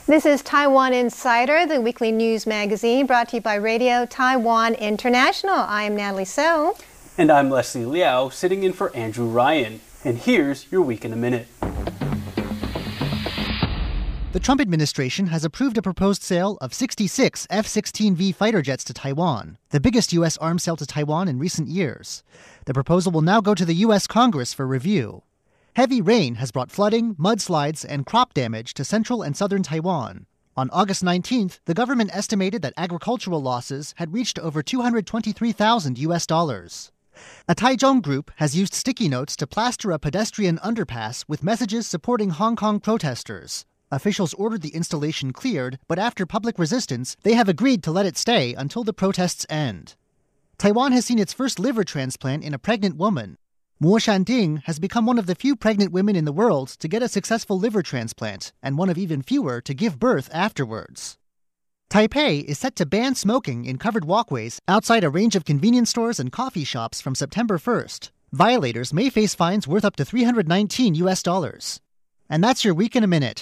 This is Taiwan Insider, the weekly news magazine brought to you by Radio Taiwan International. I am Natalie So. And I'm Leslie Liao, sitting in for Andrew Ryan. And here's your Week in a Minute. The Trump administration has approved a proposed sale of 66 F-16V fighter jets to Taiwan, the biggest U.S. arms sale to Taiwan in recent years. The proposal will now go to the U.S. Congress for review. Heavy rain has brought flooding, mudslides, and crop damage to central and southern Taiwan. On August 19th, the government estimated that agricultural losses had reached over $223,000 US. A Taichung group has used sticky notes to plaster a pedestrian underpass with messages supporting Hong Kong protesters. Officials ordered the installation cleared, but after public resistance, they have agreed to let it stay until the protests end. Taiwan has seen its first liver transplant in a pregnant woman. Mo Shanding has become one of the few pregnant women in the world to get a successful liver transplant, and one of even fewer to give birth afterwards. Taipei is set to ban smoking in covered walkways outside a range of convenience stores and coffee shops from September 1st. Violators may face fines worth up to $319 US. And that's your Week in a Minute.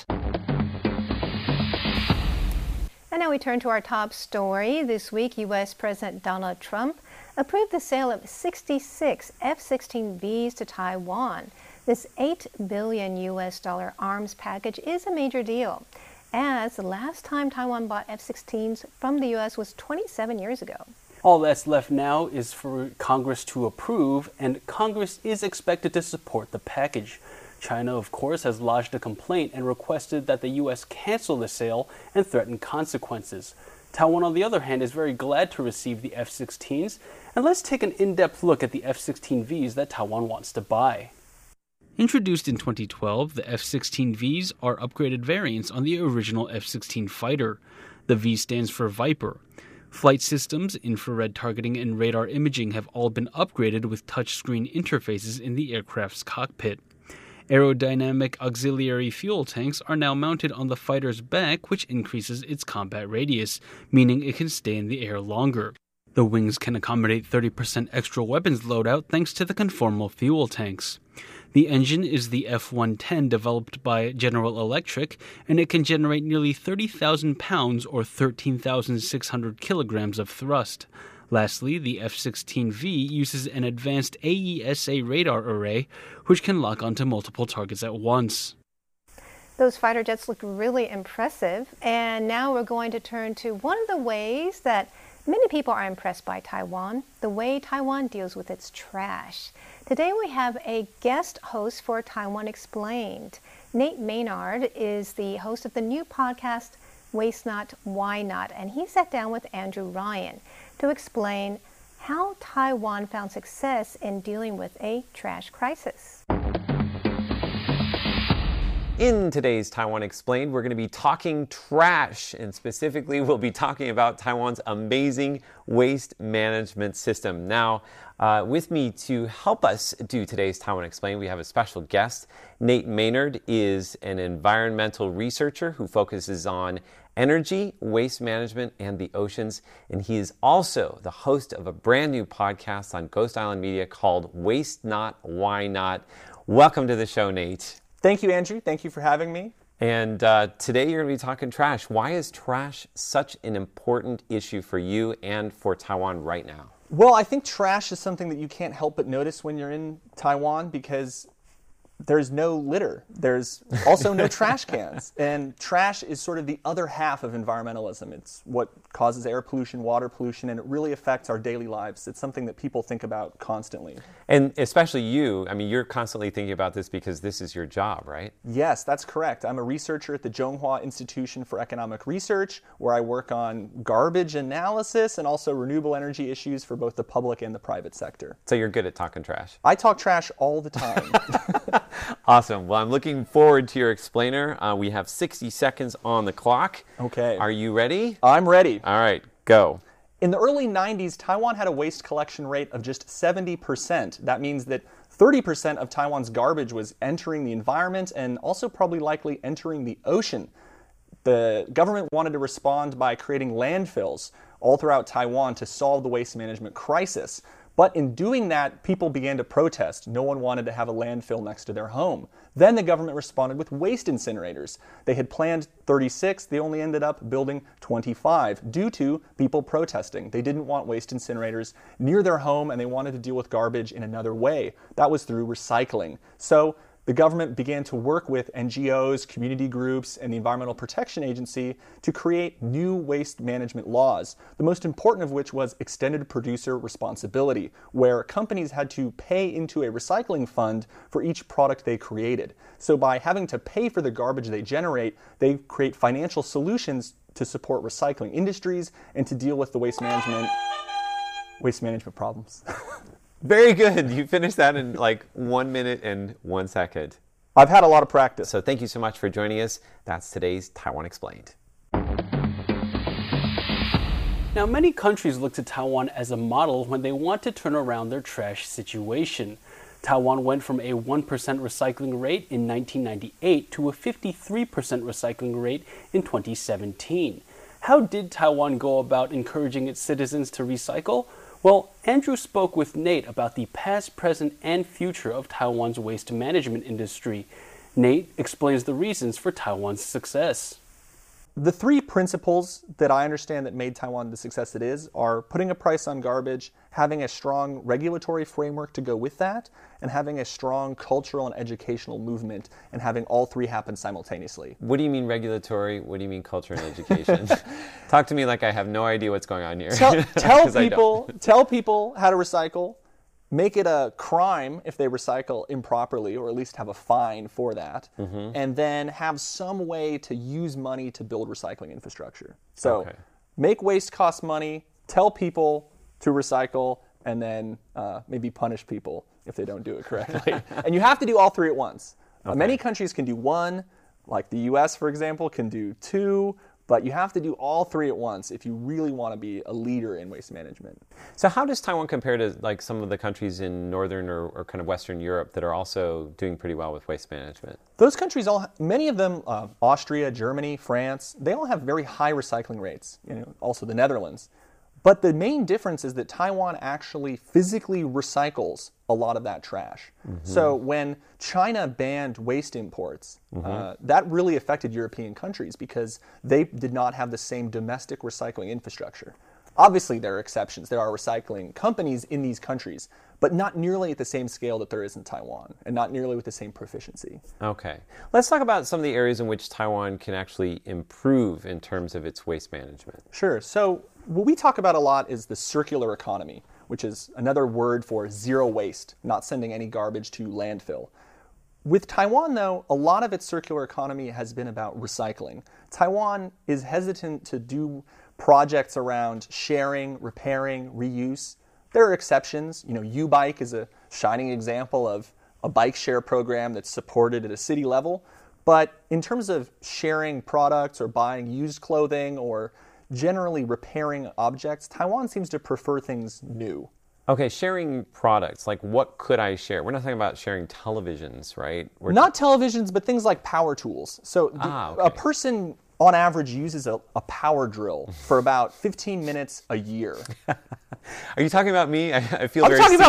And now we turn to our top story. This week, U.S. President Donald Trump approved the sale of 66 F-16Vs to Taiwan. This $8 billion US arms package is a major deal, as the last time Taiwan bought F-16s from the U.S. was 27 years ago. All that's left now is for Congress to approve, and Congress is expected to support the package. China, of course, has lodged a complaint and requested that the U.S. cancel the sale and threaten consequences. Taiwan, on the other hand, is very glad to receive the F-16s, and let's take an in-depth look at the F-16Vs that Taiwan wants to buy. Introduced in 2012, the F-16Vs are upgraded variants on the original F-16 fighter. The V stands for Viper. Flight systems, infrared targeting, and radar imaging have all been upgraded with touchscreen interfaces in the aircraft's cockpit. Aerodynamic auxiliary fuel tanks are now mounted on the fighter's back, which increases its combat radius, meaning it can stay in the air longer. The wings can accommodate 30% extra weapons loadout thanks to the conformal fuel tanks. The engine is the F-110 developed by General Electric, and it can generate nearly 30,000 pounds or 13,600 kilograms of thrust. Lastly, the F-16V uses an advanced AESA radar array, which can lock onto multiple targets at once. Those fighter jets look really impressive, and now we're going to turn to one of the ways that many people are impressed by Taiwan, the way Taiwan deals with its trash. Today we have a guest host for Taiwan Explained. Nate Maynard is the host of the new podcast, Waste Not, Why Not? And he sat down with Andrew Ryan to explain how Taiwan found success in dealing with a trash crisis. In today's Taiwan Explained, we're going to be talking trash, and specifically we'll be talking about Taiwan's amazing waste management system. Now, with me to help us do today's Taiwan Explained, we have a special guest. Nate Maynard is an environmental researcher who focuses on energy, waste management, and the oceans. And he is also the host of a brand new podcast on Ghost Island Media called Waste Not, Why Not? Welcome to the show, Nate. Thank you, Andrew. Thank you for having me. And today you're going to be talking trash. Why is trash such an important issue for you and for Taiwan right now? Well, I think trash is something that you can't help but notice when you're in Taiwan because there's no litter. There's also no trash cans. And trash is sort of the other half of environmentalism. It's what causes air pollution, water pollution, and it really affects our daily lives. It's something that people think about constantly. And especially you, I mean, you're constantly thinking about this because this is your job, right? Yes, that's correct. I'm a researcher at the Zhonghua Institution for Economic Research, where I work on garbage analysis and also renewable energy issues for both the public and the private sector. So you're good at talking trash. I talk trash all the time. Awesome. Well, I'm looking forward to your explainer. We have 60 seconds on the clock. Okay. Are you ready? I'm ready. All right, go. In the early 90s, Taiwan had a waste collection rate of just 70%. That means that 30% of Taiwan's garbage was entering the environment and also probably likely entering the ocean. The government wanted to respond by creating landfills all throughout Taiwan to solve the waste management crisis. But in doing that, people began to protest. No one wanted to have a landfill next to their home. Then the government responded with waste incinerators. They had planned 36, they only ended up building 25 due to people protesting. They didn't want waste incinerators near their home, and they wanted to deal with garbage in another way. That was through recycling. So the government began to work with NGOs, community groups, and the Environmental Protection Agency to create new waste management laws, the most important of which was extended producer responsibility, where companies had to pay into a recycling fund for each product they created. So by having to pay for the garbage they generate, they create financial solutions to support recycling industries and to deal with the waste management problems. Very good. You finished that in like 1 minute and 1 second. I've had a lot of practice. So thank you so much for joining us. That's today's Taiwan Explained. Now, many countries look to Taiwan as a model when they want to turn around their trash situation. Taiwan went from a 1% recycling rate in 1998 to a 53% recycling rate in 2017. How did Taiwan go about encouraging its citizens to recycle? Well, Andrew spoke with Nate about the past, present, and future of Taiwan's waste management industry. Nate explains the reasons for Taiwan's success. The three principles that I understand that made Taiwan the success it is are putting a price on garbage, having a strong regulatory framework to go with that, and having a strong cultural and educational movement, and having all three happen simultaneously. What do you mean regulatory? What do you mean culture and education? Talk to me like I have no idea what's going on here. Tell people how to recycle. Make it a crime if they recycle improperly, or at least have a fine for that, and then have some way to use money to build recycling infrastructure. So make waste cost money, tell people to recycle, and then maybe punish people if they don't do it correctly. And you have to do all three at once. Many countries can do one, like the US, for example, can do two, but you have to do all three at once if you really want to be a leader in waste management. So how does Taiwan compare to like some of the countries in Northern or kind of Western Europe that are also doing pretty well with waste management? Those countries, many of them, Austria, Germany, France, they all have very high recycling rates, also the Netherlands. But the main difference is that Taiwan actually physically recycles a lot of that trash. So when China banned waste imports, that really affected European countries because they did not have the same domestic recycling infrastructure. Obviously, there are exceptions. There are recycling companies in these countries, but not nearly at the same scale that there is in Taiwan, and not nearly with the same proficiency. Okay. Let's talk about some of the areas in which Taiwan can actually improve in terms of its waste management. Sure. So what we talk about a lot is the circular economy, which is another word for zero waste, not sending any garbage to landfill. With Taiwan, though, a lot of its circular economy has been about recycling. Taiwan is hesitant to do projects around sharing, repairing, reuse. There are exceptions. U-Bike is a shining example of a bike share program that's supported at a city level. But in terms of sharing products or buying used clothing or generally repairing objects, Taiwan seems to prefer things new. Okay, sharing products, like what could I share? We're not talking about sharing televisions, right? Not televisions, but things like power tools. So a person on average uses a power drill for about 15 minutes a year. Are you talking about me? I feel I'm very talking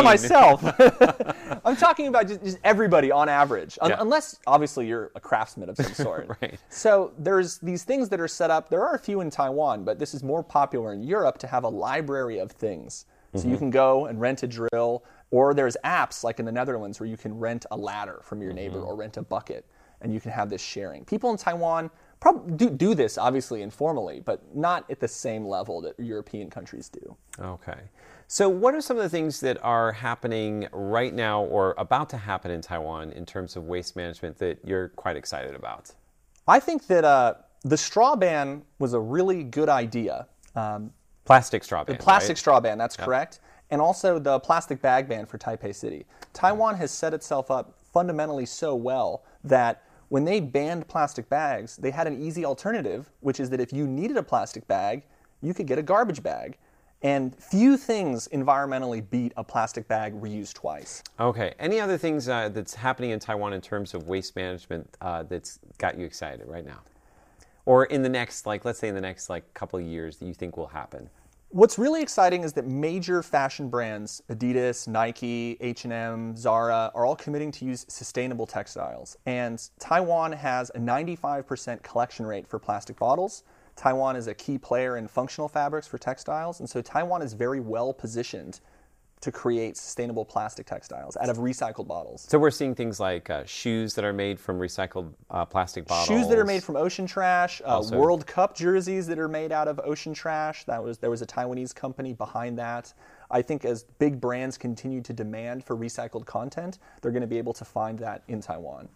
seen. about myself. I'm talking about just everybody on average, unless obviously you're a craftsman of some sort. Right. So there's these things that are set up. There are a few in Taiwan, but this is more popular in Europe to have a library of things. So you can go and rent a drill, or there's apps like in the Netherlands where you can rent a ladder from your neighbor or rent a bucket, and you can have this sharing. People in Taiwan probably do this, obviously, informally, but not at the same level that European countries do. Okay. So what are some of the things that are happening right now or about to happen in Taiwan in terms of waste management that you're quite excited about? I think that the straw ban was a really good idea. Plastic straw ban, The plastic right? straw ban, that's correct. And also the plastic bag ban for Taipei City. Taiwan has set itself up fundamentally so well that when they banned plastic bags, they had an easy alternative, which is that if you needed a plastic bag, you could get a garbage bag. And few things environmentally beat a plastic bag reused twice. Okay. Any other things that's happening in Taiwan in terms of waste management that's got you excited right now? Or in the next, let's say in the next couple of years that you think will happen? What's really exciting is that major fashion brands, Adidas, Nike, H&M, Zara, are all committing to use sustainable textiles. And Taiwan has a 95% collection rate for plastic bottles. Taiwan is a key player in functional fabrics for textiles, and so Taiwan is very well positioned to create sustainable plastic textiles out of recycled bottles. So we're seeing things like shoes that are made from recycled plastic bottles. Shoes that are made from ocean trash, World Cup jerseys that are made out of ocean trash. There was a Taiwanese company behind that. I think as big brands continue to demand for recycled content, they're going to be able to find that in Taiwan.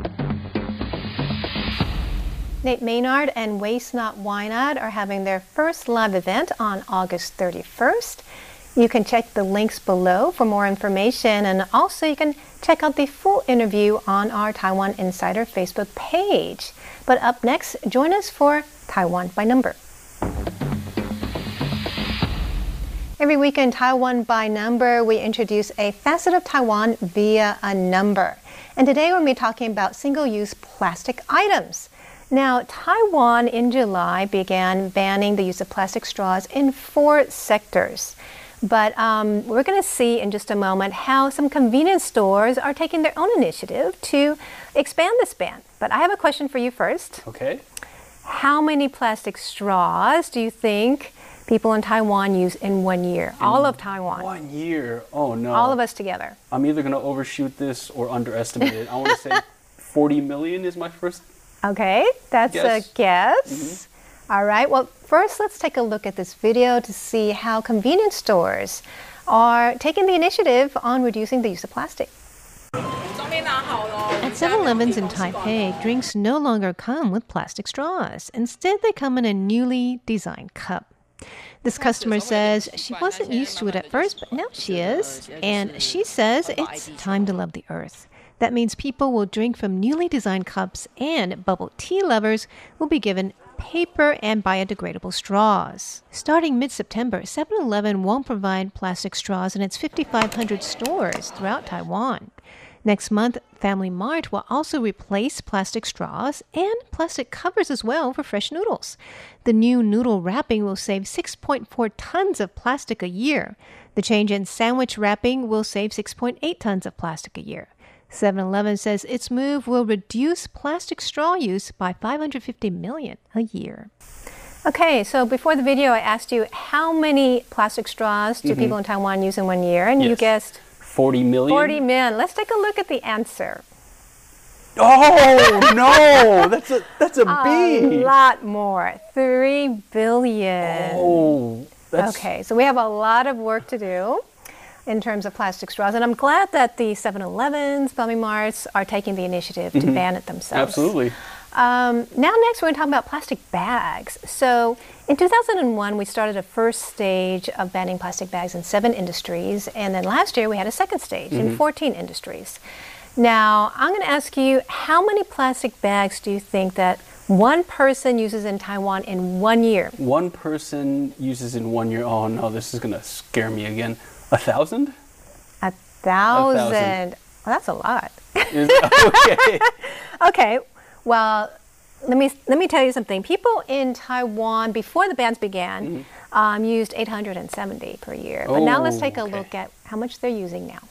Nate Maynard and Waste Not Why Not are having their first live event on August 31st. You can check the links below for more information, and also you can check out the full interview on our Taiwan Insider Facebook page. But up next, join us for Taiwan by Number. Every week in Taiwan by Number, we introduce a facet of Taiwan via a number. And today we're going to be talking about single-use plastic items. Now, Taiwan in July began banning the use of plastic straws in 4 sectors. But we're going to see in just a moment how some convenience stores are taking their own initiative to expand this ban. But I have a question for you first. Okay. How many plastic straws do you think people in Taiwan use in 1 year? All of Taiwan. 1 year? Oh, no. All of us together. I'm either going to overshoot this or underestimate it. I want to say 40 million is my first Okay, that's guess. a guess. All right, well, first let's take a look at this video to see how convenience stores are taking the initiative on reducing the use of plastic. At 7-Elevens in Taipei, drinks no longer come with plastic straws. Instead, they come in a newly designed cup. This customer says she wasn't used to it at first, but now she is. And she says it's time to love the earth. That means people will drink from newly designed cups, and bubble tea lovers will be given paper and biodegradable straws. Starting mid-September, 7-Eleven won't provide plastic straws in its 5,500 stores throughout Taiwan. Next month, Family Mart will also replace plastic straws and plastic covers as well for fresh noodles. The new noodle wrapping will save 6.4 tons of plastic a year. The change in sandwich wrapping will save 6.8 tons of plastic a year. 7-Eleven says its move will reduce plastic straw use by 550 million a year. Okay, so before the video, I asked you how many plastic straws do people in Taiwan use in 1 year, and you Yes. guessed 40 million? 40 million. Let's take a look at the answer. Oh, no! That's a B! A lot more, 3 billion. Oh, that's... Okay, so we have a lot of work to do in terms of plastic straws, and I'm glad that the 7-Elevens, Family Marts are taking the initiative to ban it themselves. Absolutely. Now next we're going to talk about plastic bags. So in 2001 we started a first stage of banning plastic bags in 7 industries, and then last year we had a second stage in 14 industries. Now I'm going to ask you, how many plastic bags do you think that one person uses in Taiwan in 1 year? One person uses in 1 year. Oh, no, this is going to scare me again. 1,000? 1,000. Well, that's a lot. Okay. Okay, well, let me tell you something. People in Taiwan, before the bans began, used 870 per year. But now let's take a look at how much they're using now.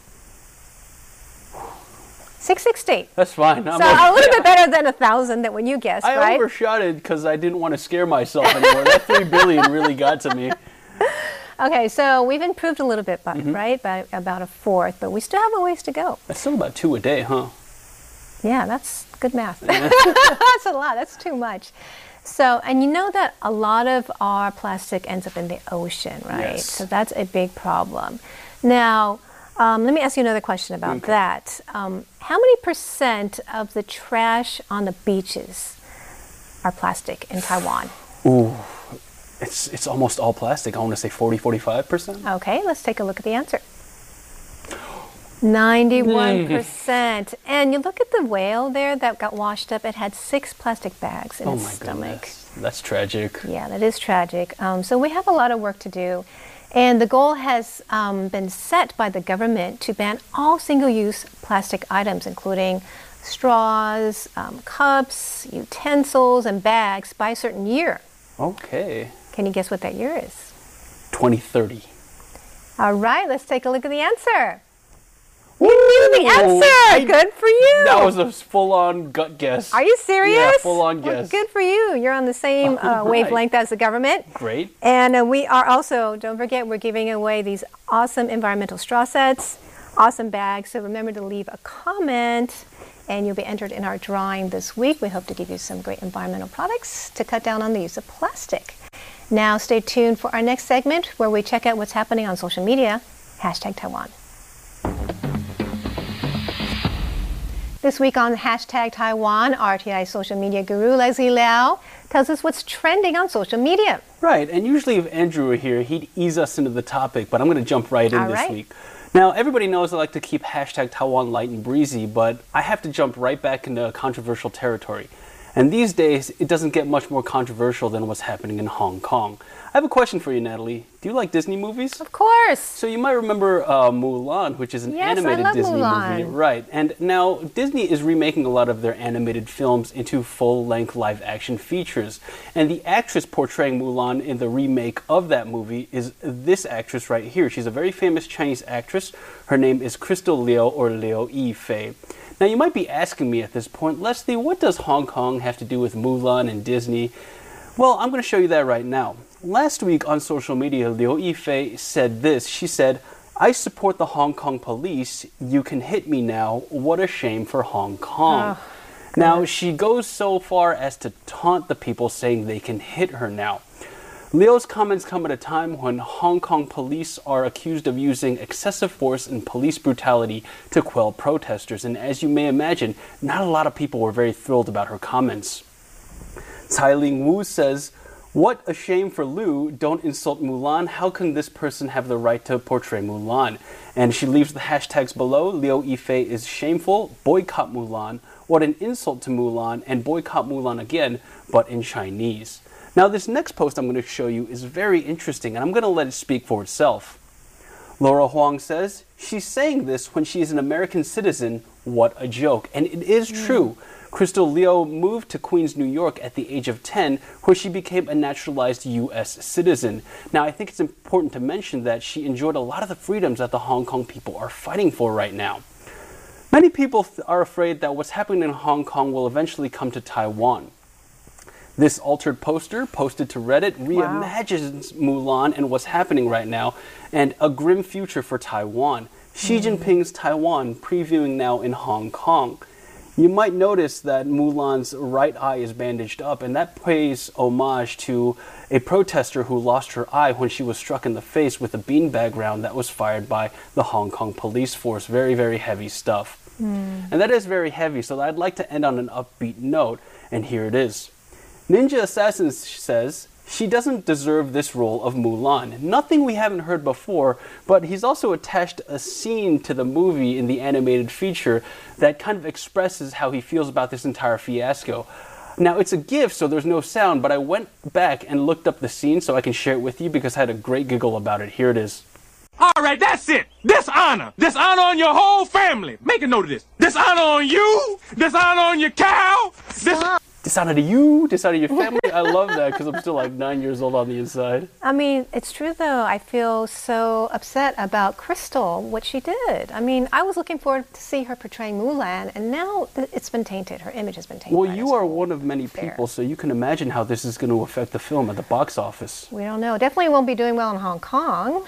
660. That's fine. So a little bit better than 1,000 that when you guessed, I right? overshot it because I didn't want to scare myself anymore. That 3 billion really got to me. Okay, so we've improved a little bit, right? By about a fourth, but we still have a ways to go. That's still about 2 a day, huh? Yeah, that's good math. That's a lot. That's too much. So, and you know that a lot of our plastic ends up in the ocean, right? Yes. So that's a big problem. Now, let me ask you another question about that. How many % of the trash on the beaches are plastic in Taiwan? Ooh, it's almost all plastic. I want to say 40-45%. Okay, let's take a look at the answer. 91%. And you look at the whale there that got washed up, it had 6 plastic bags in Oh its my stomach. goodness. That's tragic. Yeah, that is tragic. So we have a lot of work to do. And the goal has been set by the government to ban all single-use plastic items, including straws, cups, utensils, and bags by a certain year. Okay. Can you guess what that year is? 2030. All right, let's take a look at the answer. You knew the answer. Good for you. That was a full-on gut guess. Are you serious? Yeah, full-on Well, guess. good for you. You're on the same Right. wavelength as the government. Great. And we are also, don't forget, we're giving away these awesome environmental straw sets, awesome bags. So remember to leave a comment and you'll be entered in our drawing this week. We hope to give you some great environmental products to cut down on the use of plastic. Now stay tuned for our next segment where we check out what's happening on social media. #Taiwan. This week on #Taiwan, RTI social media guru Leslie Liao tells us what's trending on social media. Right, and usually if Andrew were here, he'd ease us into the topic, but I'm going to jump right in All this right. week. Now, everybody knows I like to keep #Taiwan light and breezy, but I have to jump right back into controversial territory. And these days, it doesn't get much more controversial than what's happening in Hong Kong. I have a question for you, Natalie. Do you like Disney movies? Of course. So you might remember Mulan, which is an Yes, I animated love Disney Mulan. movie. Right. And now Disney is remaking a lot of their animated films into full-length live-action features. And the actress portraying Mulan in the remake of that movie is this actress right here. She's a very famous Chinese actress. Her name is Crystal Liu, or Liu Yifei. Now you might be asking me at this point, Leslie, what does Hong Kong have to do with Mulan and Disney? Well, I'm going to show you that right now. Last week on social media, Liu Yifei said this. She said, "I support the Hong Kong police. You can hit me now. What a shame for Hong Kong." Now, she goes so far as to taunt the people, saying they can hit her now. Liu's comments come at a time when Hong Kong police are accused of using excessive force and police brutality to quell protesters. And as you may imagine, not a lot of people were very thrilled about her comments. Tsai Ling-Wu says, "What a shame for Liu. Don't insult Mulan. How can this person have the right to portray Mulan?" And she leaves the hashtags below. Liu Yifei is shameful. Boycott Mulan. What an insult to Mulan. And boycott Mulan again, but in Chinese. Now, this next post I'm going to show you is very interesting, and I'm going to let it speak for itself. Laura Huang says, "She's saying this when she is an American citizen. What a joke." And it is true. Crystal Liu moved to Queens, New York at the age of 10, where she became a naturalized U.S. citizen. Now, I think it's important to mention that she enjoyed a lot of the freedoms that the Hong Kong people are fighting for right now. Many people are afraid that what's happening in Hong Kong will eventually come to Taiwan. This altered poster, posted to Reddit, reimagines Mulan and what's happening right now, and a grim future for Taiwan. Xi Jinping's Taiwan previewing now in Hong Kong. You might notice that Mulan's right eye is bandaged up, and that pays homage to a protester who lost her eye when she was struck in the face with a beanbag round that was fired by the Hong Kong police force. Very, very heavy stuff. And that is very heavy, so I'd like to end on an upbeat note, and here it is. Ninja Assassin says, "She doesn't deserve this role of Mulan." Nothing we haven't heard before, but he's also attached a scene to the movie in the animated feature that kind of expresses how he feels about this entire fiasco. Now, it's a GIF, so there's no sound, but I went back and looked up the scene so I can share it with you because I had a great giggle about it. Here it is. All right, that's it. Dishonor. Dishonor on your whole family. Make a note of this. Dishonor on you. Dishonor on your cow. Dishonor to you, dishonor to your family. I love that because I'm still like 9 years old on the inside. I mean, it's true though. I feel so upset about Crystal, what she did. I mean, I was looking forward to see her portraying Mulan, and now it's been tainted. Her image has been tainted. Well, by you this are whole one of many affair. people, so you can imagine how this is going to affect the film at the box office. We don't know. Definitely won't be doing well in Hong Kong.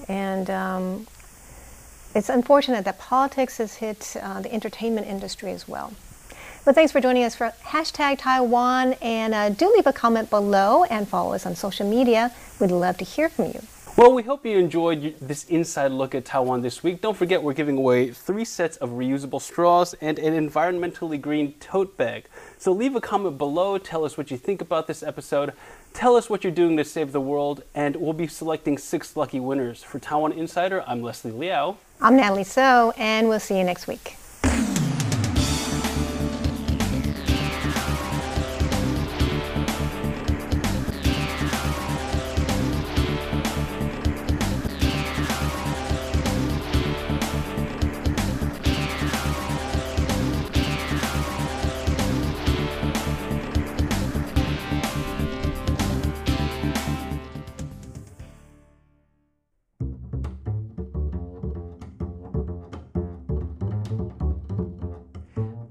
And it's unfortunate that politics has hit the entertainment industry as well. But thanks for joining us for #Taiwan, and do leave a comment below and follow us on social media. We'd love to hear from you. Well, we hope you enjoyed this inside look at Taiwan this week. Don't forget, we're giving away 3 sets of reusable straws and an environmentally green tote bag. So leave a comment below, tell us what you think about this episode, tell us what you're doing to save the world, and we'll be selecting 6 lucky winners. For Taiwan Insider, I'm Leslie Liao. I'm Natalie So, and we'll see you next week.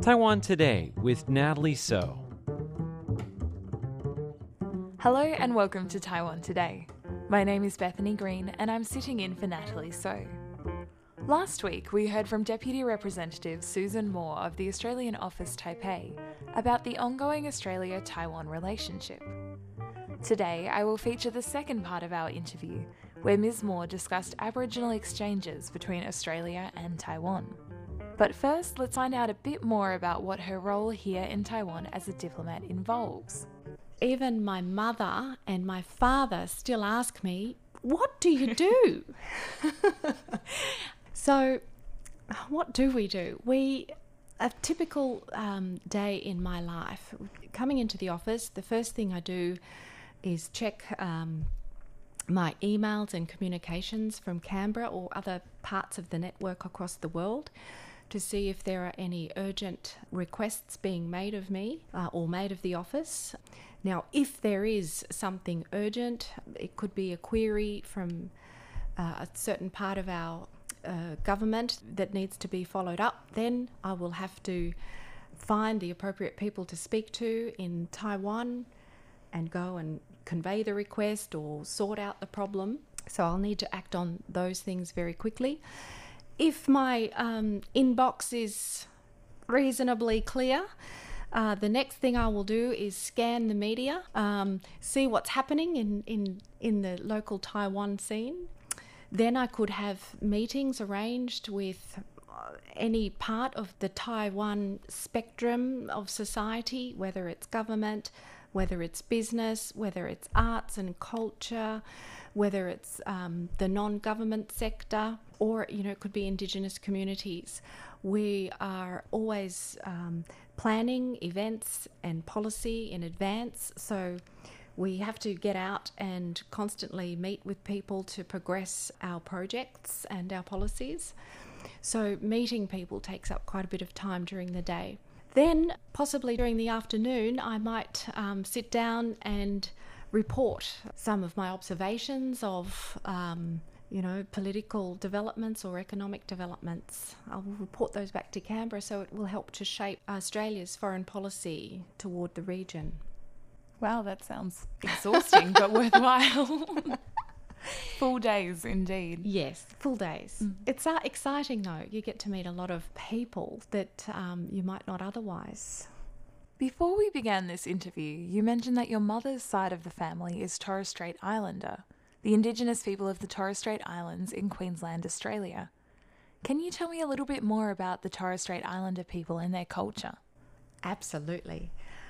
Taiwan Today with Natalie So. Hello and welcome to Taiwan Today. My name is Bethany Green and I'm sitting in for Natalie So. Last week we heard from Deputy Representative Susan Moore of the Australian Office Taipei about the ongoing Australia-Taiwan relationship. Today I will feature the second part of our interview, where Ms. Moore discussed Aboriginal exchanges between Australia and Taiwan. But first, let's find out a bit more about what her role here in Taiwan as a diplomat involves. Even my mother and my father still ask me, what do you do? So, what do? A typical day in my life, coming into the office, the first thing I do is check my emails and communications from Canberra or other parts of the network across the world to see if there are any urgent requests being made of me or made of the office. Now, if there is something urgent, it could be a query from a certain part of our government that needs to be followed up, then I will have to find the appropriate people to speak to in Taiwan and go and convey the request or sort out the problem. So I'll need to act on those things very quickly. If my inbox is reasonably clear, the next thing I will do is scan the media, see what's happening in the local Taiwan scene. Then I could have meetings arranged with any part of the Taiwan spectrum of society, whether it's government, whether it's business, whether it's arts and culture, whether it's the non-government sector, or it could be Indigenous communities. We are always planning events and policy in advance, so we have to get out and constantly meet with people to progress our projects and our policies. So meeting people takes up quite a bit of time during the day. Then, possibly during the afternoon, I might sit down and report some of my observations of, political developments or economic developments. I will report those back to Canberra, so it will help to shape Australia's foreign policy toward the region. Wow, that sounds exhausting but worthwhile. Full days indeed. Yes, full days. It's exciting though. You get to meet a lot of people that you might not otherwise. Before we began this interview, you mentioned that your mother's side of the family is Torres Strait Islander, the Indigenous people of the Torres Strait Islands in Queensland, Australia. Can you tell me a little bit more about the Torres Strait Islander people and their culture? Absolutely.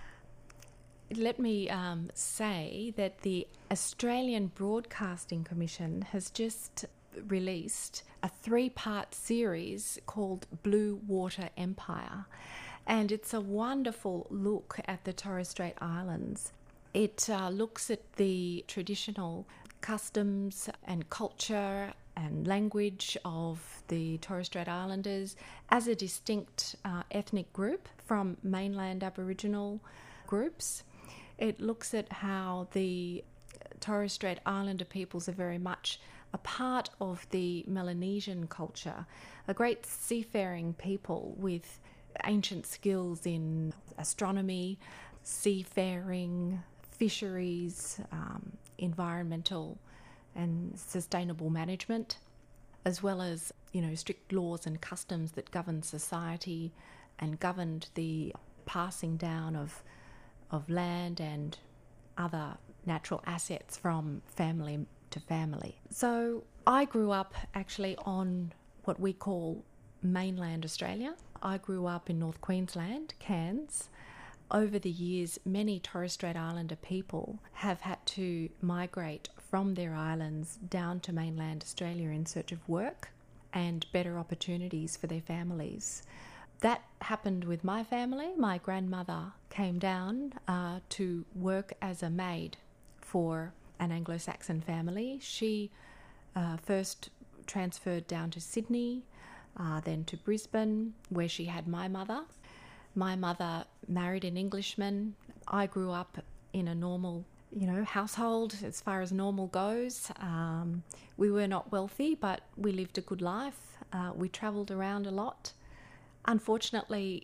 Let me say that the Australian Broadcasting Commission has just released a 3-part series called Blue Water Empire, and it's a wonderful look at the Torres Strait Islands. It looks at the traditional customs and culture and language of the Torres Strait Islanders as a distinct ethnic group from mainland Aboriginal groups. It looks at how the Torres Strait Islander peoples are very much a part of the Melanesian culture, a great seafaring people with ancient skills in astronomy, seafaring, fisheries, environmental and sustainable management, as well as, strict laws and customs that govern society and governed the passing down of land and other natural assets from family to family. So I grew up actually on what we call mainland Australia. I grew up in North Queensland, Cairns. Over the years, many Torres Strait Islander people have had to migrate from their islands down to mainland Australia in search of work and better opportunities for their families. That happened with my family. My grandmother came down to work as a maid for an Anglo-Saxon family. She first transferred down to Sydney, then to Brisbane, where she had my mother. My mother married an Englishman. I grew up in a normal, household as far as normal goes. We were not wealthy, but we lived a good life. We travelled around a lot. Unfortunately,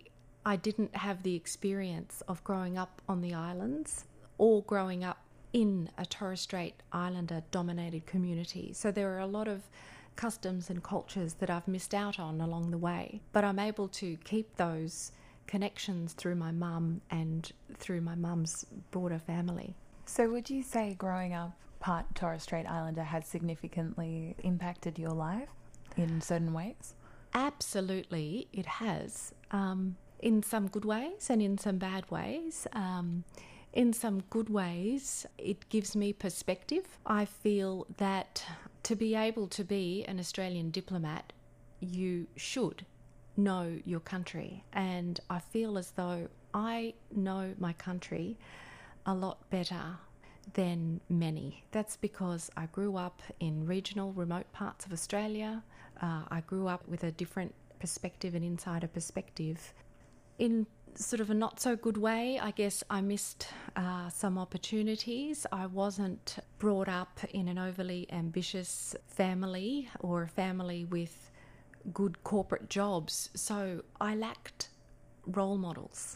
I didn't have the experience of growing up on the islands or growing up in a Torres Strait Islander dominated community. So there are a lot of customs and cultures that I've missed out on along the way, but I'm able to keep those connections through my mum and through my mum's broader family. So would you say growing up part Torres Strait Islander has significantly impacted your life in certain ways? Absolutely, it has. In some good ways and in some bad ways. In some good ways, it gives me perspective. I feel that to be able to be an Australian diplomat, you should know your country. And I feel as though I know my country a lot better than many. That's because I grew up in regional, remote parts of Australia. I grew up with a different perspective, an insider perspective. In sort of a not so good way, I guess I missed some opportunities. I wasn't brought up in an overly ambitious family or a family with good corporate jobs, so I lacked role models.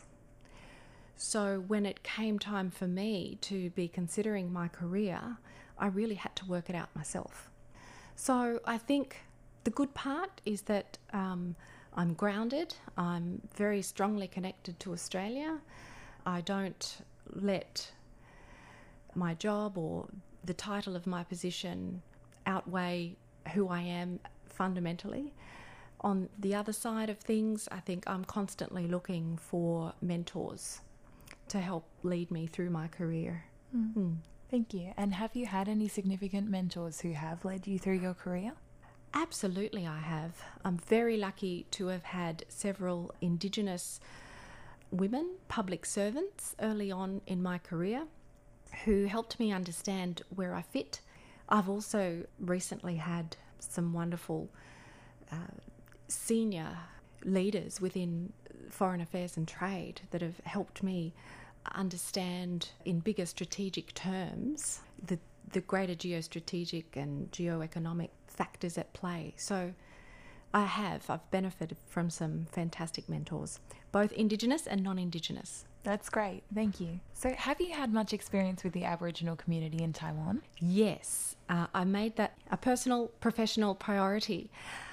So when it came time for me to be considering my career, I really had to work it out myself. So I think the good part is that I'm grounded. I'm very strongly connected to Australia. I don't let my job or the title of my position outweigh who I am fundamentally. On the other side of things, I think I'm constantly looking for mentors to help lead me through my career. Thank you. And have you had any significant mentors who have led you through your career? Absolutely, I have. I'm very lucky to have had several Indigenous women, public servants, early on in my career who helped me understand where I fit. I've also recently had some wonderful senior leaders within foreign affairs and trade that have helped me understand in bigger strategic terms the greater geostrategic and geoeconomic factors at play. So I've benefited from some fantastic mentors, both Indigenous and non-Indigenous. That's great, thank you. So have you had much experience with the Aboriginal community in Taiwan? Yes, I made that a personal, professional priority.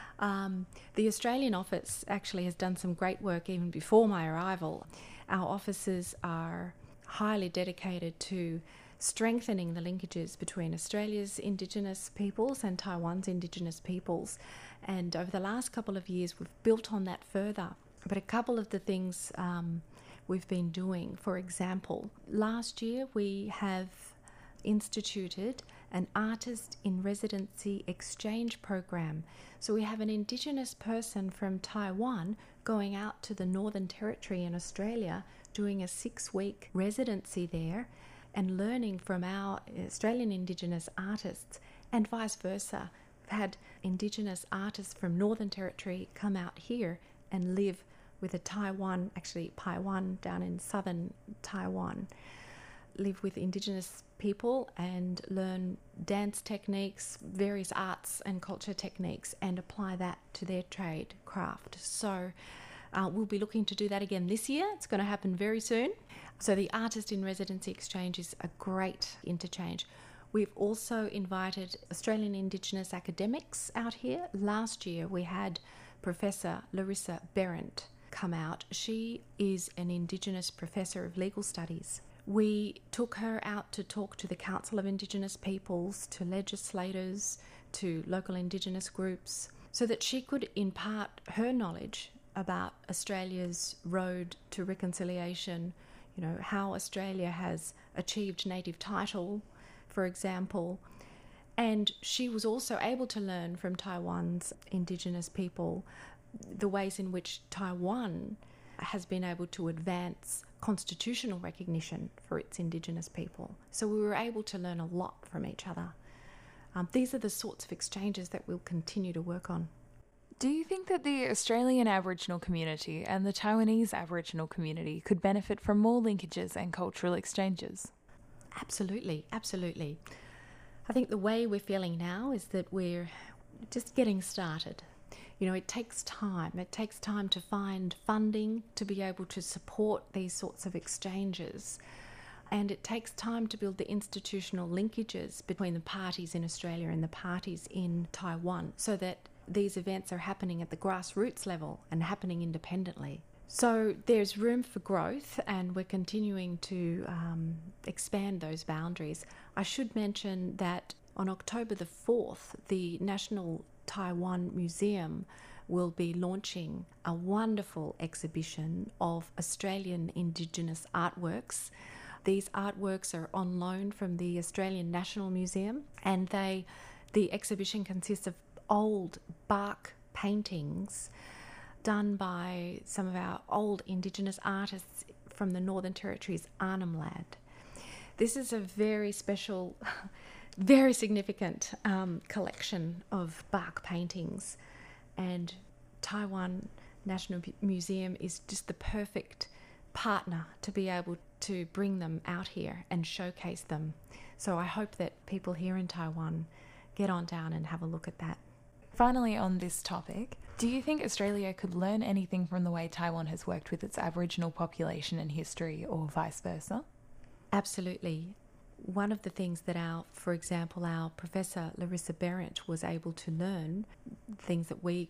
The Australian office actually has done some great work even before my arrival. Our officers are highly dedicated to strengthening the linkages between Australia's Indigenous peoples and Taiwan's Indigenous peoples. And over the last couple of years, we've built on that further. But a couple of the things we've been doing, for example, last year we have instituted an artist in residency exchange program. So we have an Indigenous person from Taiwan going out to the Northern Territory in Australia, doing a 6-week residency there and learning from our Australian Indigenous artists, and vice versa. We've had Indigenous artists from Northern Territory come out here and live with a Taiwan, actually Paiwan down in southern Taiwan, live with Indigenous people and learn dance techniques, various arts and culture techniques, and apply that to their trade craft. So we'll be looking to do that again this year. It's going to happen very soon. So the Artist in Residency Exchange is a great interchange. We've also invited Australian Indigenous academics out here. Last year we had Professor Larissa Berendt come out. She is an Indigenous professor of legal studies. We took her out to talk to the Council of Indigenous Peoples, to legislators, to local Indigenous groups, so that she could impart her knowledge about Australia's road to reconciliation, you know, how Australia has achieved native title, for example. And she was also able to learn from Taiwan's Indigenous people the ways in which Taiwan has been able to advance constitutional recognition for its Indigenous people. So we were able to learn a lot from each other. These are the sorts of exchanges that we'll continue to work on. Do you think that the Australian Aboriginal community and the Taiwanese Aboriginal community could benefit from more linkages and cultural exchanges? Absolutely, absolutely. I think the way we're feeling now is that we're just getting started. It takes time. It takes time to find funding to be able to support these sorts of exchanges. And it takes time to build the institutional linkages between the parties in Australia and the parties in Taiwan so that these events are happening at the grassroots level and happening independently. So there's room for growth, and we're continuing to expand those boundaries. I should mention that on October the 4th, the National Taiwan Museum will be launching a wonderful exhibition of Australian Indigenous artworks. These artworks are on loan from the Australian National Museum, and the exhibition consists of old bark paintings done by some of our old Indigenous artists from the Northern Territory's Arnhem Land. This is a very special, very significant collection of bark paintings, and Taiwan National Museum is just the perfect partner to be able to bring them out here and showcase them. So I hope that people here in Taiwan get on down and have a look at that. Finally, on this topic, do you think Australia could learn anything from the way Taiwan has worked with its Aboriginal population in history, or vice versa? Absolutely. One of the things that for example, our Professor Larissa Berendt was able to learn, things that we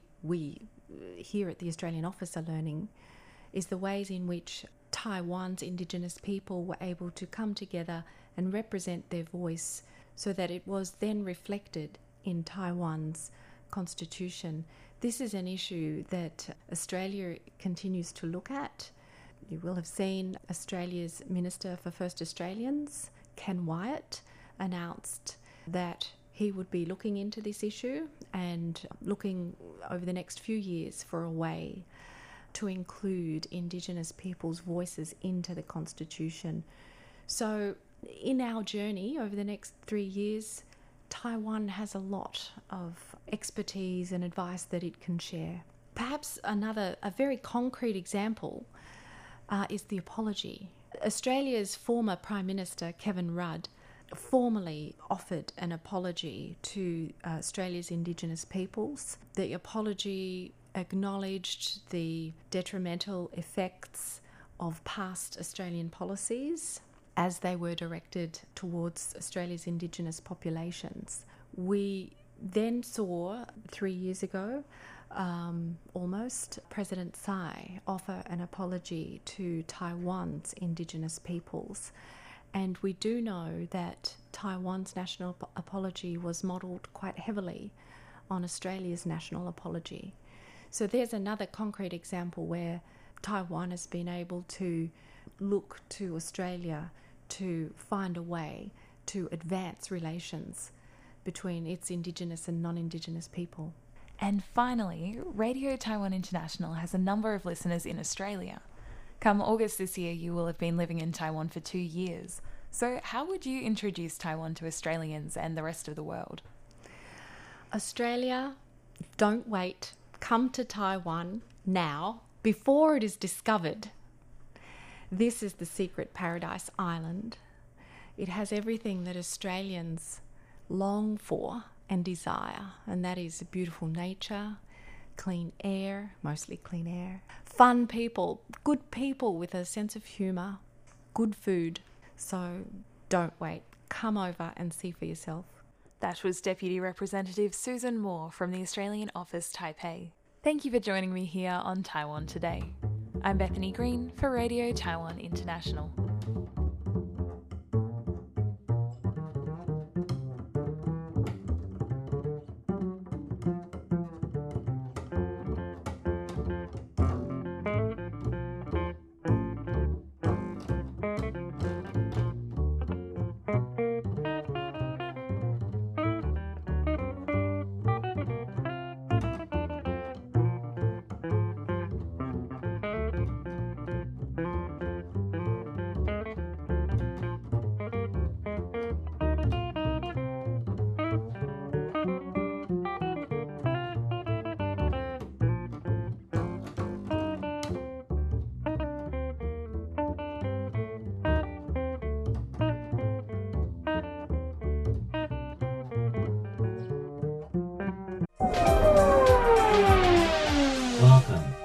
here at the Australian office are learning, is the ways in which Taiwan's Indigenous people were able to come together and represent their voice so that it was then reflected in Taiwan's constitution. This is an issue that Australia continues to look at. You will have seen Australia's Minister for First Australians, Ken Wyatt, announced that he would be looking into this issue and looking over the next few years for a way to include Indigenous people's voices into the Constitution. So in our journey over the next 3 years, Taiwan has a lot of expertise and advice that it can share. Perhaps a very concrete example is the apology. Australia's former Prime Minister, Kevin Rudd, formally offered an apology to Australia's Indigenous peoples. The apology acknowledged the detrimental effects of past Australian policies as they were directed towards Australia's Indigenous populations. We then saw 3 years ago, almost, President Tsai offer an apology to Taiwan's Indigenous peoples. And we do know that Taiwan's national apology was modelled quite heavily on Australia's national apology. So there's another concrete example where Taiwan has been able to look to Australia to find a way to advance relations between its Indigenous and non-Indigenous people. And finally, Radio Taiwan International has a number of listeners in Australia. Come August this year, you will have been living in Taiwan for 2 years. So how would you introduce Taiwan to Australians and the rest of the world? Australia, don't wait. Come to Taiwan now, before it is discovered. This is the secret paradise island. It has everything that Australians long for and desire, and that is beautiful nature, clean air, mostly clean air, fun people, good people with a sense of humour, good food. So don't wait. Come over and see for yourself. That was Deputy Representative Susan Moore from the Australian Office, Taipei. Thank you for joining me here on Taiwan Today. I'm Bethany Green for Radio Taiwan International.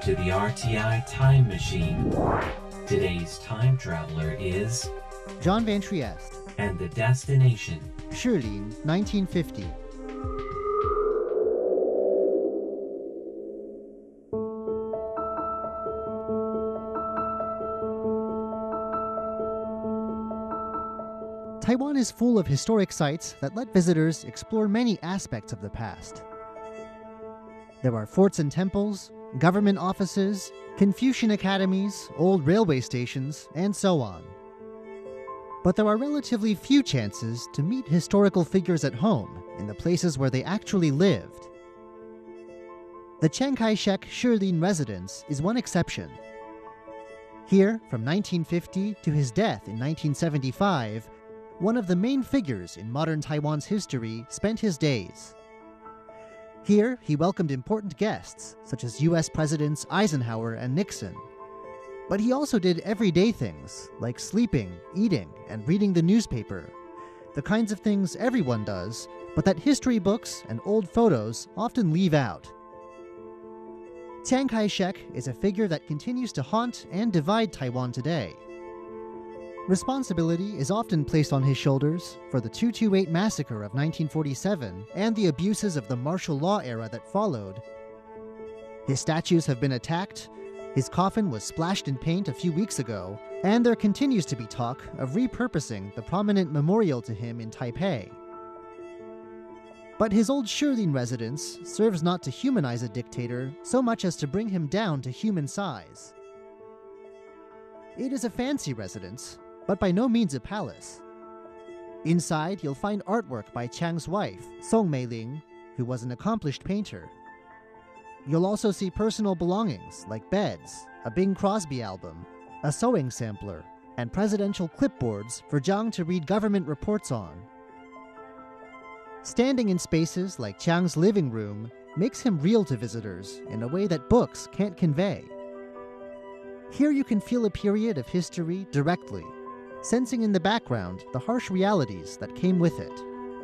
to the RTI Time Machine. Today's time traveler is John Van Trieste. And the destination, Shilin, 1950. Taiwan is full of historic sites that let visitors explore many aspects of the past. There are forts and temples, government offices, Confucian academies, old railway stations, and so on. But there are relatively few chances to meet historical figures at home in the places where they actually lived. The Chiang Kai-shek Shilin residence is one exception. Here, from 1950 to his death in 1975, one of the main figures in modern Taiwan's history spent his days. Here, he welcomed important guests, such as U.S. Presidents Eisenhower and Nixon. But he also did everyday things, like sleeping, eating, and reading the newspaper. The kinds of things everyone does, but that history books and old photos often leave out. Chiang Kai-shek is a figure that continues to haunt and divide Taiwan today. Responsibility is often placed on his shoulders for the 228 massacre of 1947 and the abuses of the martial law era that followed. His statues have been attacked, his coffin was splashed in paint a few weeks ago, and there continues to be talk of repurposing the prominent memorial to him in Taipei. But his old Shilin residence serves not to humanize a dictator so much as to bring him down to human size. It is a fancy residence, but by no means a palace. Inside, you'll find artwork by Chiang's wife, Song Meiling, who was an accomplished painter. You'll also see personal belongings like beds, a Bing Crosby album, a sewing sampler, and presidential clipboards for Jiang to read government reports on. Standing in spaces like Chiang's living room makes him real to visitors in a way that books can't convey. Here you can feel a period of history directly, sensing in the background the harsh realities that came with it.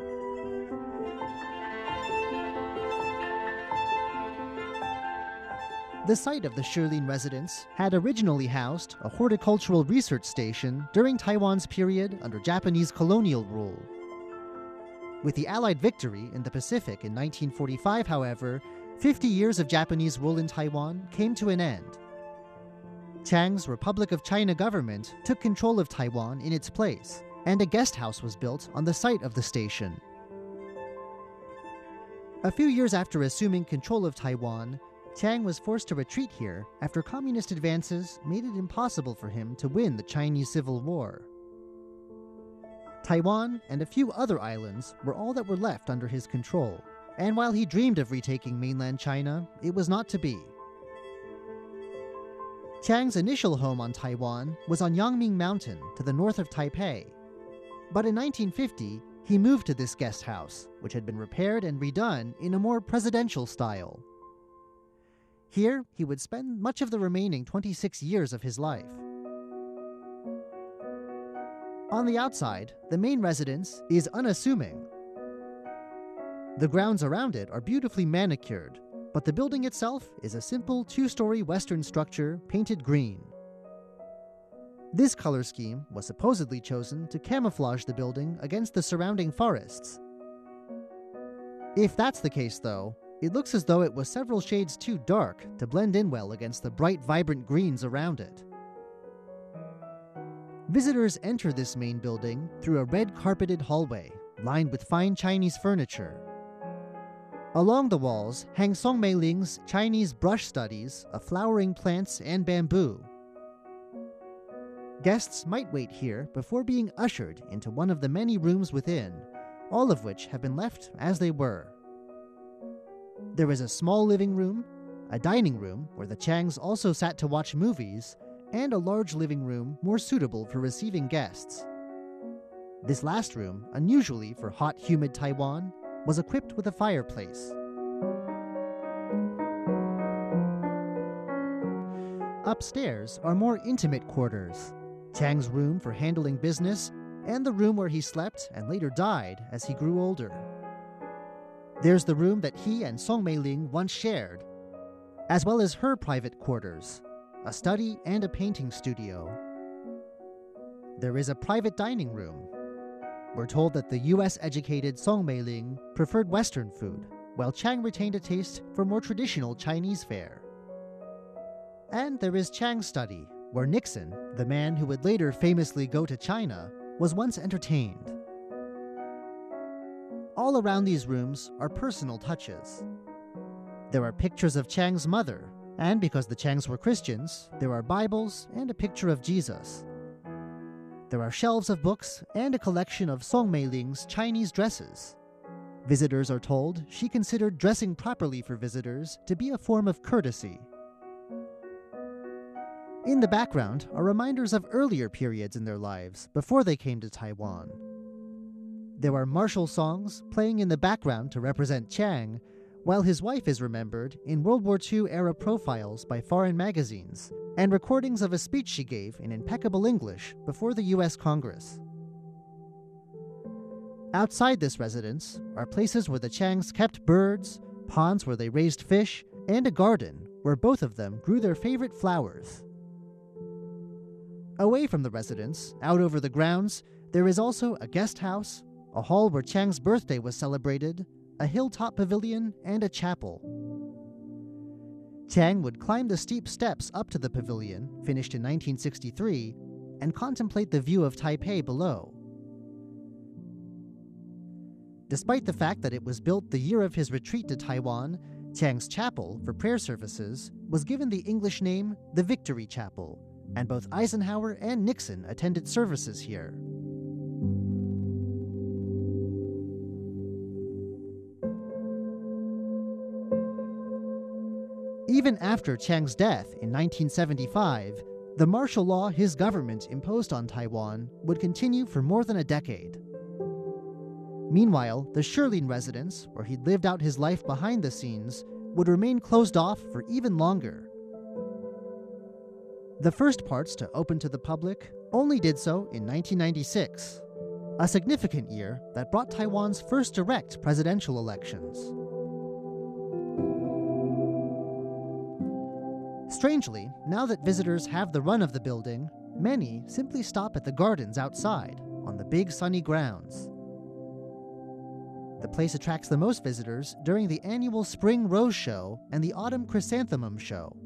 The site of the Shilin residence had originally housed a horticultural research station during Taiwan's period under Japanese colonial rule. With the Allied victory in the Pacific in 1945, however, 50 years of Japanese rule in Taiwan came to an end. Chiang's Republic of China government took control of Taiwan in its place, and a guest house was built on the site of the station. A few years after assuming control of Taiwan, Chiang was forced to retreat here after communist advances made it impossible for him to win the Chinese Civil War. Taiwan and a few other islands were all that were left under his control, and while he dreamed of retaking mainland China, it was not to be. Chiang's initial home on Taiwan was on Yangming Mountain to the north of Taipei. But in 1950, he moved to this guest house, which had been repaired and redone in a more presidential style. Here, he would spend much of the remaining 26 years of his life. On the outside, the main residence is unassuming. The grounds around it are beautifully manicured, but the building itself is a simple two-story Western structure painted green. This color scheme was supposedly chosen to camouflage the building against the surrounding forests. If that's the case, though, it looks as though it was several shades too dark to blend in well against the bright, vibrant greens around it. Visitors enter this main building through a red carpeted hallway lined with fine Chinese furniture. Along the walls hang Song Meiling's Chinese brush studies of flowering plants and bamboo. Guests might wait here before being ushered into one of the many rooms within, all of which have been left as they were. There is a small living room, a dining room where the Chiangs also sat to watch movies, and a large living room more suitable for receiving guests. This last room, unusually for hot, humid Taiwan, was equipped with a fireplace. Upstairs are more intimate quarters, Chiang's room for handling business, and the room where he slept and later died as he grew older. There's the room that he and Song Meiling once shared. as well as her private quarters, a study and a painting studio. There is a private dining room. We're told that the US-educated Song Meiling preferred Western food, while Chiang retained a taste for more traditional Chinese fare. And there is Chiang's study, where Nixon, the man who would later famously go to China, was once entertained. All around these rooms are personal touches. There are pictures of Chiang's mother, and because the Chiangs were Christians, there are Bibles and a picture of Jesus. There are shelves of books and a collection of Song Meiling's Chinese dresses. Visitors are told she considered dressing properly for visitors to be a form of courtesy. In the background are reminders of earlier periods in their lives before they came to Taiwan. There are martial songs playing in the background to represent Chiang, while his wife is remembered in World War II-era profiles by foreign magazines and recordings of a speech she gave in impeccable English before the U.S. Congress. Outside this residence are places where the Chiangs kept birds, ponds where they raised fish, and a garden where both of them grew their favorite flowers. Away from the residence, out over the grounds, there is also a guest house, a hall where Chiang's birthday was celebrated, a hilltop pavilion, and a chapel. Chiang would climb the steep steps up to the pavilion, finished in 1963, and contemplate the view of Taipei below. Despite the fact that it was built the year of his retreat to Taiwan, Chiang's chapel, for prayer services, was given the English name the Victory Chapel, and both Eisenhower and Nixon attended services here. Even after Chiang's death in 1975, the martial law his government imposed on Taiwan would continue for more than a decade. Meanwhile, the Shirlin residence, where he'd lived out his life behind the scenes, would remain closed off for even longer. The first parts to open to the public only did so in 1996, a significant year that brought Taiwan's first direct presidential elections. Strangely, now that visitors have the run of the building, many simply stop at the gardens outside, on the big sunny grounds. The place attracts the most visitors during the annual Spring Rose Show and the Autumn Chrysanthemum Show.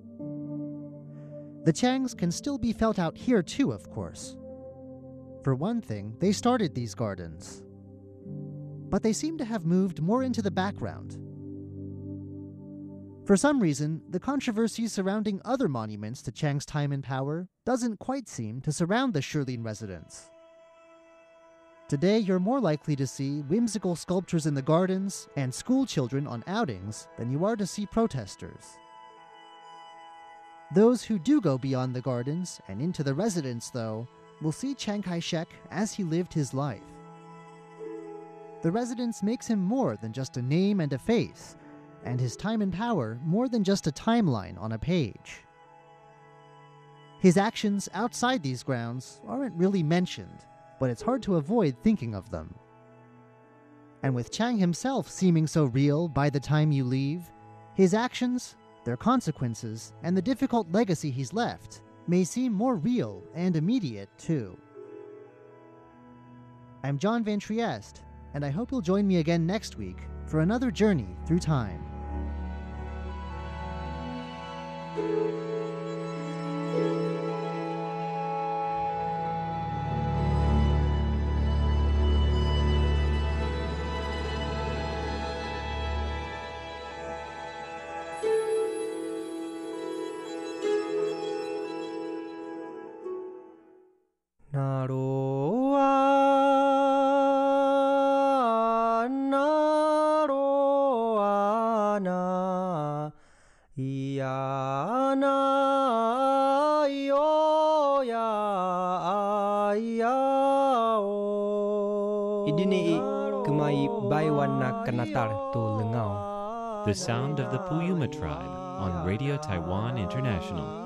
The Chiangs can still be felt out here too, of course. For one thing, they started these gardens. But they seem to have moved more into the background. For some reason, the controversy surrounding other monuments to Chiang's time in power doesn't quite seem to surround the Shirlin residence. Today, you're more likely to see whimsical sculptures in the gardens and school children on outings than you are to see protesters. Those who do go beyond the gardens and into the residence, though, will see Chiang Kai-shek as he lived his life. The residence makes him more than just a name and a face, and his time in power more than just a timeline on a page. His actions outside these grounds aren't really mentioned, but it's hard to avoid thinking of them. And with Chiang himself seeming so real by the time you leave, his actions, their consequences, and the difficult legacy he's left may seem more real and immediate, too. I'm John Van Trieste, and I hope you'll join me again next week for another journey through time. The sound of the Puyuma tribe on Radio Taiwan International.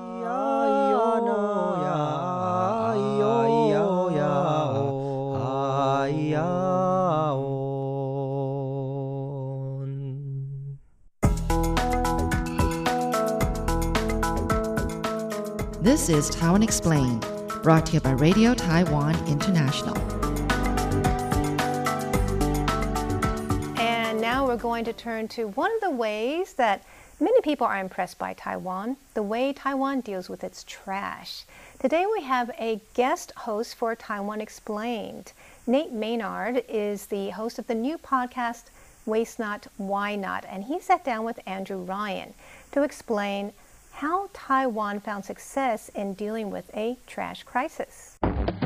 This is Taiwan Explained, brought to you by Radio Taiwan International. And now we're going to turn to one of the ways that many people are impressed by Taiwan, the way Taiwan deals with its trash. Today we have a guest host for Taiwan Explained. Nate Maynard is the host of the new podcast, Waste Not, Why Not? And he sat down with Andrew Ryan to explain how Taiwan found success in dealing with a trash crisis.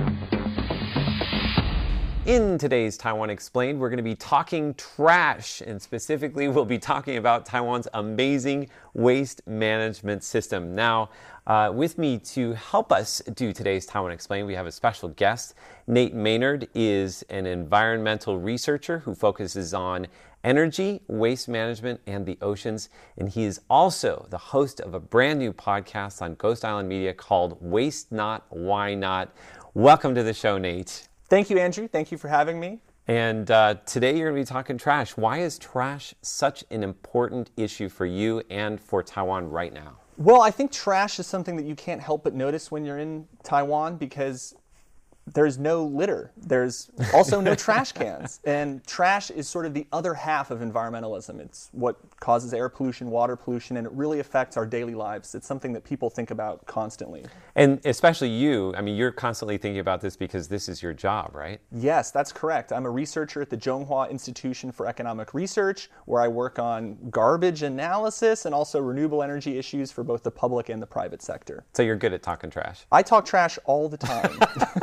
In today's Taiwan Explained, we're going to be talking trash, and specifically we'll be talking about Taiwan's amazing waste management system. Now, with me to help us do today's Taiwan Explained, we have a special guest. Nate Maynard is an environmental researcher who focuses on energy, waste management, and the oceans. And he is also the host of a brand new podcast on Ghost Island Media called Waste Not, Why Not? Welcome to the show, Nate. Thank you, Andrew. Thank you for having me. And today you're going to be talking trash. Why is trash such an important issue for you and for Taiwan right now? Well, I think trash is something that you can't help but notice when you're in Taiwan because there's no litter. There's also no trash cans. And trash is sort of the other half of environmentalism. It's what causes air pollution, water pollution, and it really affects our daily lives. It's something that people think about constantly. And especially you, I mean, you're constantly thinking about this because this is your job, right? Yes, that's correct. I'm a researcher at the Zhonghua Institution for Economic Research, where I work on garbage analysis and also renewable energy issues for both the public and the private sector. So you're good at talking trash. I talk trash all the time.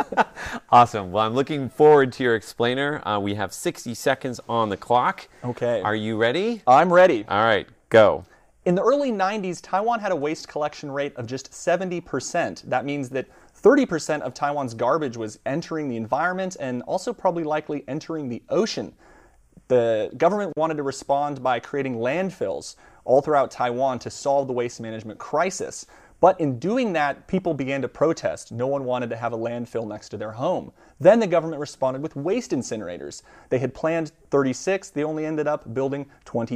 Awesome. Well, I'm looking forward to your explainer. We have 60 seconds on the clock. Okay. Are you ready? I'm ready. All right, go. In the early 90s, Taiwan had a waste collection rate of just 70%. That means that 30% of Taiwan's garbage was entering the environment and also probably likely entering the ocean. The government wanted to respond by creating landfills all throughout Taiwan to solve the waste management crisis. But in doing that, people began to protest. No one wanted to have a landfill next to their home. Then the government responded with waste incinerators. They had planned 36, they only ended up building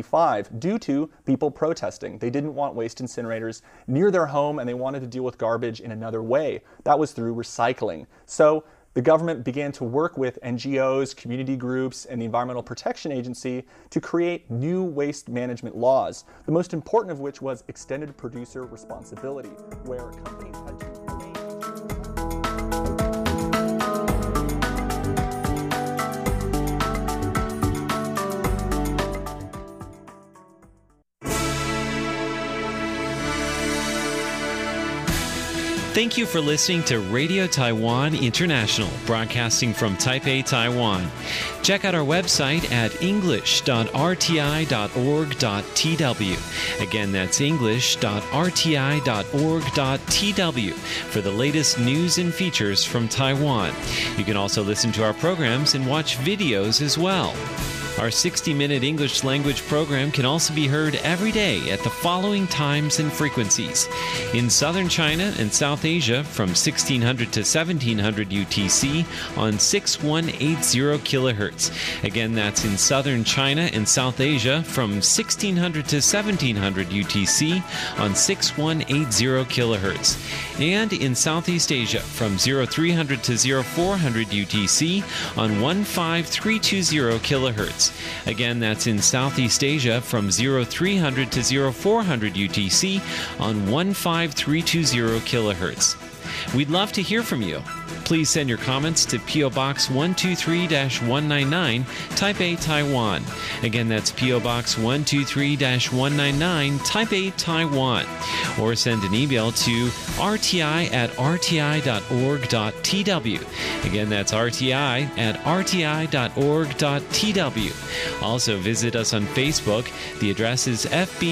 25 due to people protesting. They didn't want waste incinerators near their home and they wanted to deal with garbage in another way. That was through recycling. So the government began to work with NGOs, community groups, and the Environmental Protection Agency to create new waste management laws, the most important of which was extended producer responsibility, where companies had to Thank you for listening to Radio Taiwan International, broadcasting from Taipei, Taiwan. Check out our website at english.rti.org.tw. Again, that's english.rti.org.tw for the latest news and features from Taiwan. You can also listen to our programs and watch videos as well. Our 60-minute English language program can also be heard every day at the following times and frequencies. In southern China and South Asia from 1600 to 1700 UTC on 6180 kHz. Again, that's in southern China and South Asia from 1600 to 1700 UTC on 6180 kHz. And in Southeast Asia from 0300 to 0400 UTC on 15320 kHz. Again, that's in Southeast Asia from 0300 to 0400 UTC on 15320 kHz. We'd love to hear from you. Please send your comments to P.O. Box 123-199, Taipei, Taiwan. Again, that's P.O. Box 123-199, Taipei, Taiwan. Or send an email to rti@rti.org.tw. Again, that's rti@rti.org.tw. Also, visit us on Facebook. The address is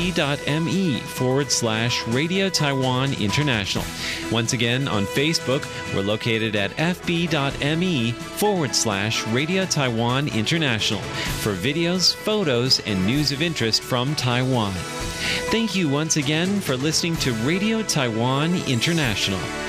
fb.me/Radio Taiwan International. Once again, on Facebook, we're located at fb.me/Radio Taiwan International for videos, photos, and news of interest from Taiwan. Thank you once again for listening to Radio Taiwan International.